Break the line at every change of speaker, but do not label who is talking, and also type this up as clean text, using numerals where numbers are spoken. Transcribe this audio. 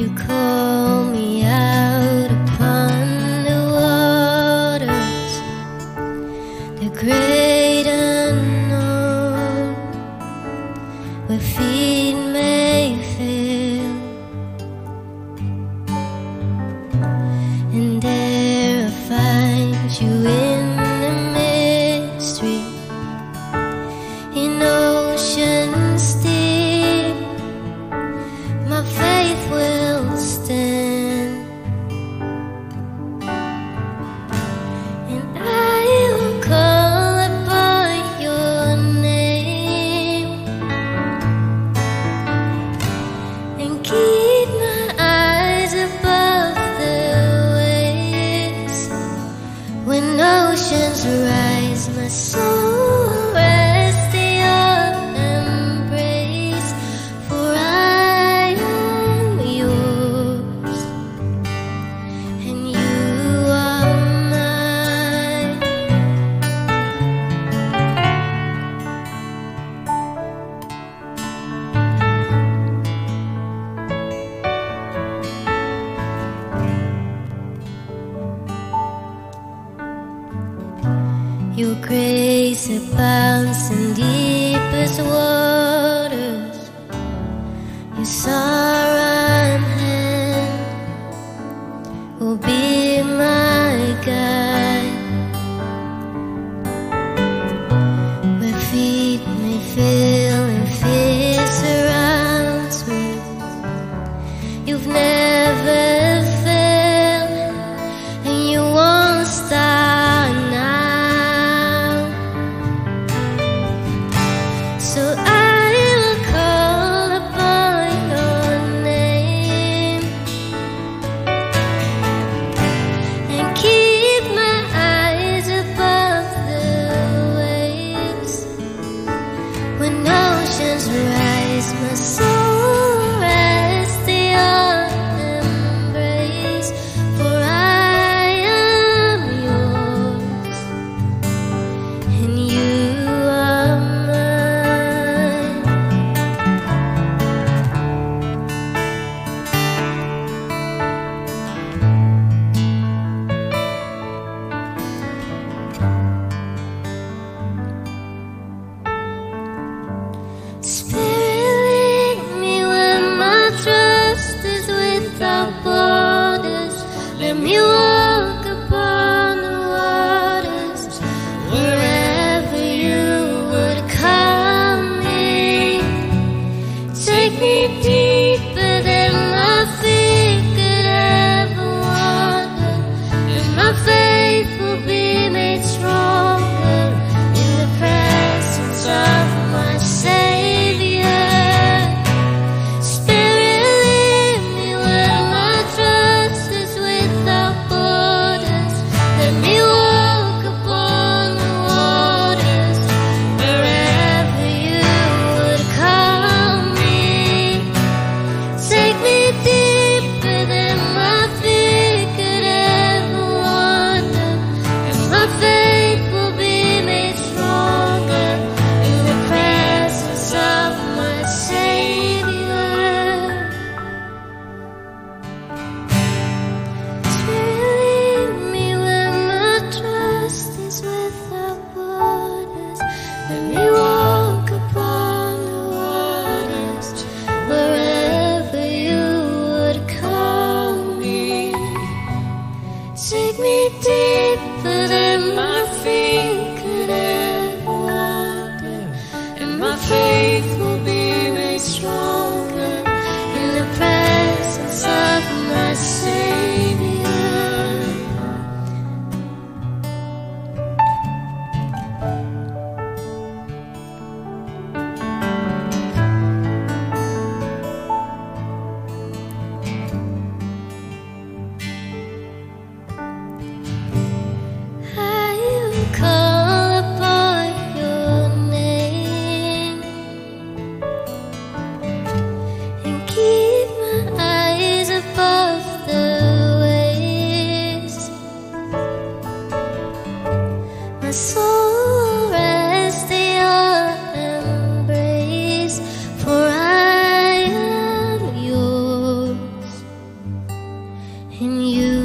call me out upon the waters, the great unknown, where feet may fail, and there I find you in the mystery, in oceans deep. My faith will stand, and I will call upon your name, and keep my eyes above the waves. When oceans rise, my soul will rest in your embrace, for I am yours, and you are mine. Your grace abounds in deepest waters, your sovereign hand will be my guide, where feet may fail and fear surrounds me. You've never failed, and you won't start now. So I will call upon your name, and keep my eyes above the waves. When oceans rise, my soul rests in your embrace, for I am yours, and you are mine. Spirit, lead me where my trust is without borders. Let me walk upon the waters, wherever you would call me. Take me deeper than my feet could ever wander, and my faith will be made stronger in the presence of my Savior. Spirit, lead me where my trust is without borders. Let me walk upon the waters, wherever you would call me. Take me deeper than my feet could ever wander, and my faith will be made stronger in the presence of my Savior. Spirit, lead me where my trust is without borders. Let me walk upon the waters, wherever you would call me. Take me deeper than my feet could ever wander, and my faith will be made stronger in the presence of my Savior. I will call upon your name, and keep my eyes above the waves. My soul will rest in your embrace, for I am yours, in you.